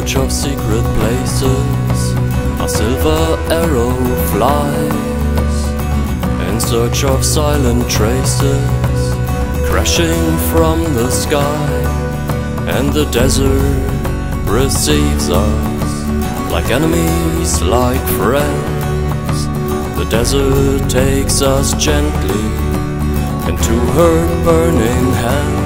search of secret places, a silver arrow flies, in search of silent traces, crashing from the sky. And the desert receives us, like enemies, like friends. The desert takes us gently into her burning hands.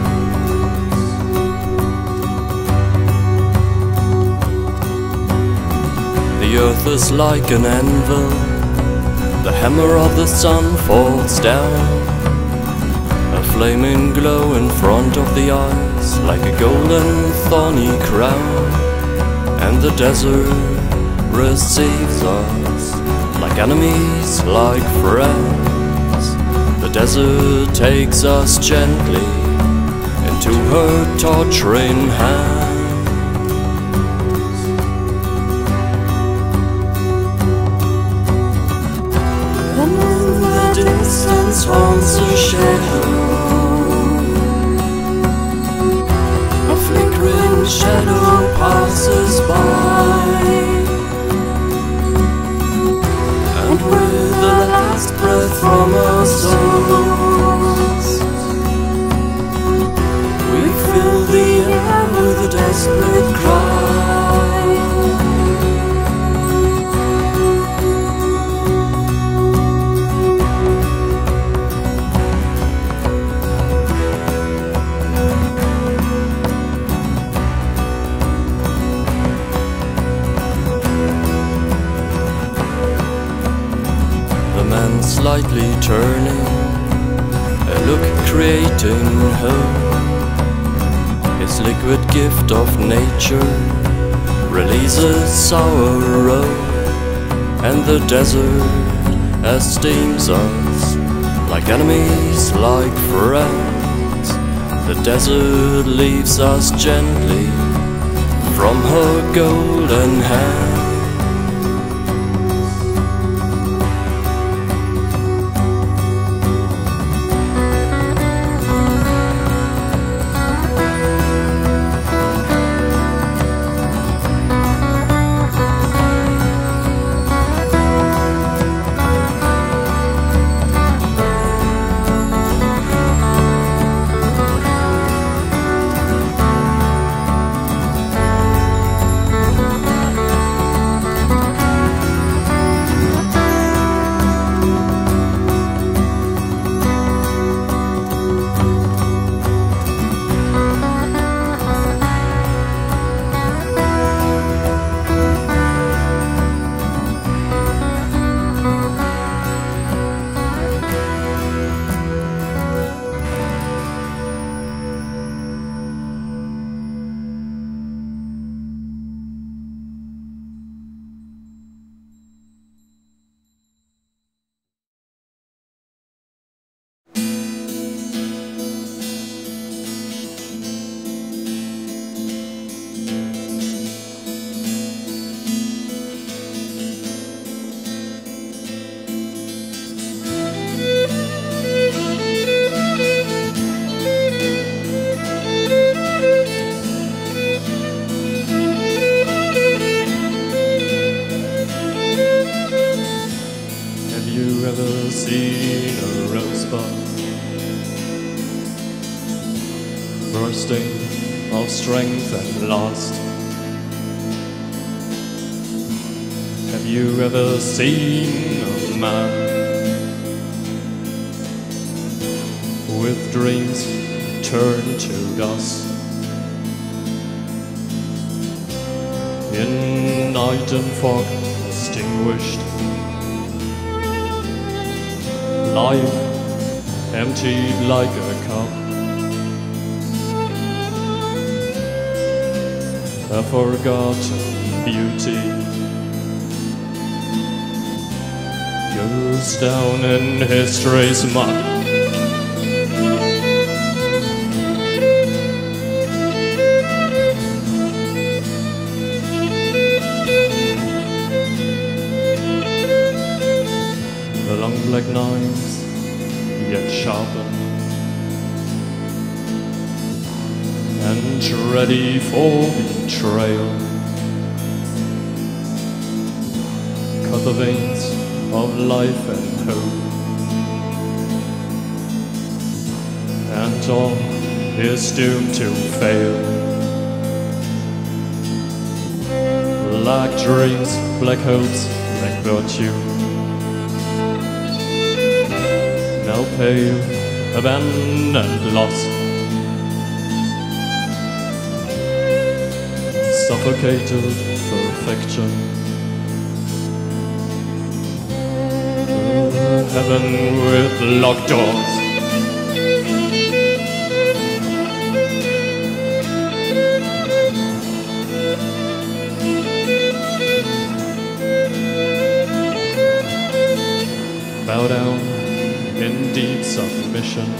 The earth is like an anvil, the hammer of the sun falls down, a flaming glow in front of the eyes, like a golden thorny crown. And the desert receives us, like enemies, like friends. The desert takes us gently into her torturing hands. And in the distance haunts a shadow, a flickering shadow passes by, and with the last breath from our souls, we fill the air with a desperate cry. Slightly turning, a look creating hope. His liquid gift of nature releases sorrow, and the desert esteems us, like enemies, like friends. The desert leaves us gently from her golden hand. Seen a rosebud bursting of strength and lust? Have you ever seen a man with dreams turned to dust? In night and fog extinguished, life emptied like a cup, a forgotten beauty goes down in history's muck. The long black knives, yet sharpened and ready for the trail. Cut the veins of life and hope, and all is doomed to fail. Black dreams, black hopes, black virtue, now pale, abandoned, lost, suffocated perfection. Heaven with locked doors, bow down in deep submission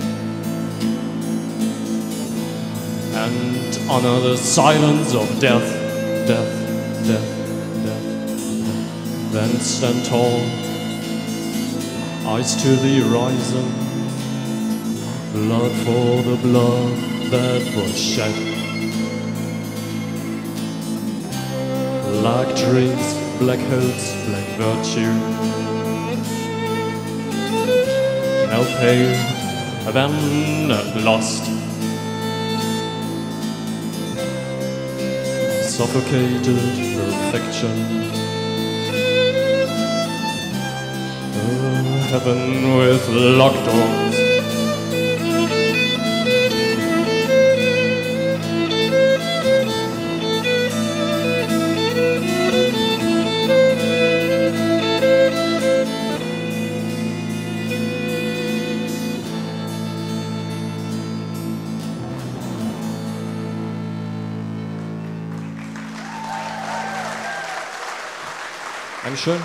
and honor the silence of death, death, death, death. Then stand tall, eyes to the horizon, blood for the blood that was shed. Black dreams, black hopes, black virtue, now pale, abandoned, lost, suffocated perfection. Heaven with locked doors, Dankeschön.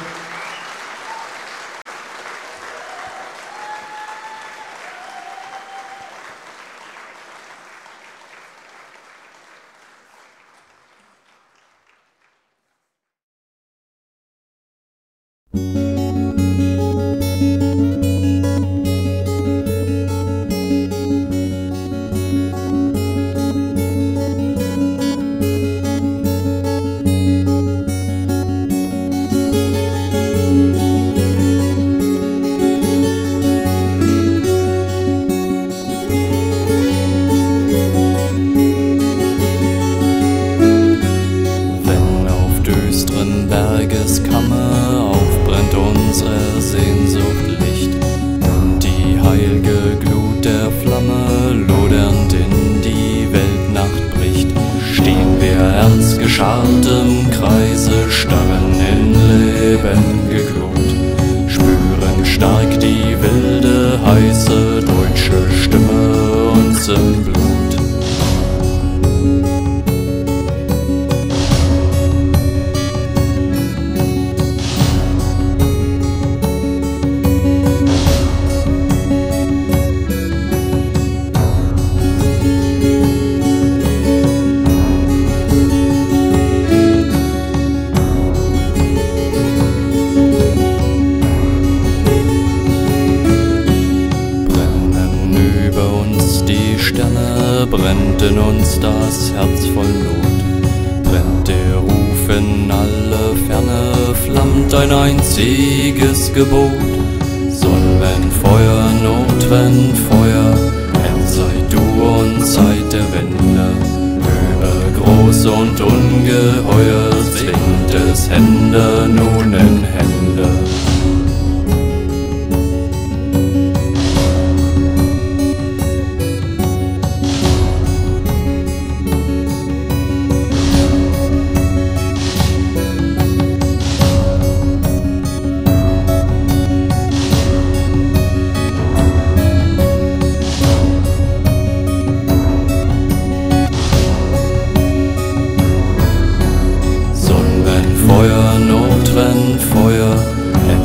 Geschartem Kreise starren in Leben geglut, spüren stark die wilde, heiße deutsche Stimme uns im Blut. Brennt in uns das Herz voll Not, brennt der Ruf in alle Ferne, flammt ein einziges Gebot. Sonn, wenn Feuer, Not, wenn Feuer, Herr, sei du uns seit der Wende. Übergroß und ungeheuer zwingt es Hände nun in Hände. Feuer, Not, wenn Feuer,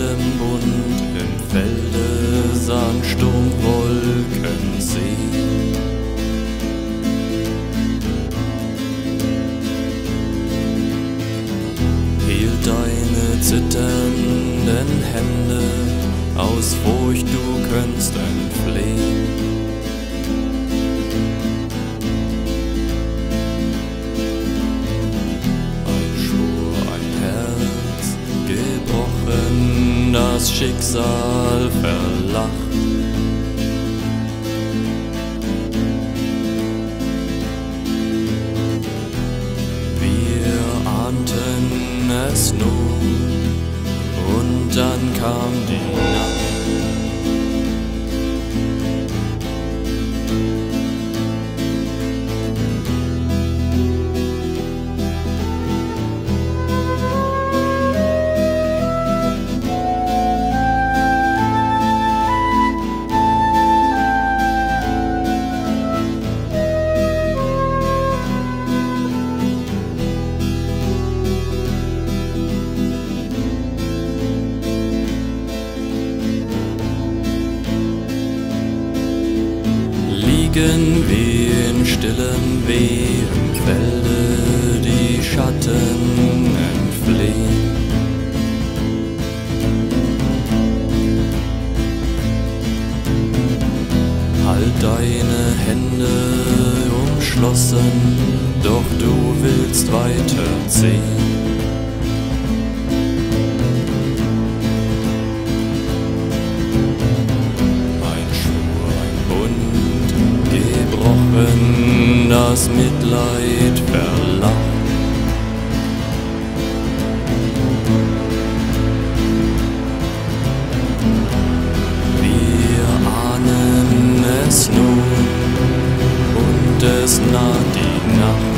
allem bunt, im Felde Sandsturm, Wolken, See. Hielt deine zitternden Hände, aus Furcht du könntest entfliehen. Ein Schwur, ein Herz gebrochen, das Schicksal verlacht. Wir ahnten es nur, und dann kam die Nacht. Liegen wie in stillem Weh im Felde, die Schatten entfliehen. Halt deine Hände umschlossen, doch du willst weiterziehen. Das Mitleid verlacht. Wir ahnen es nun, und es naht die Nacht.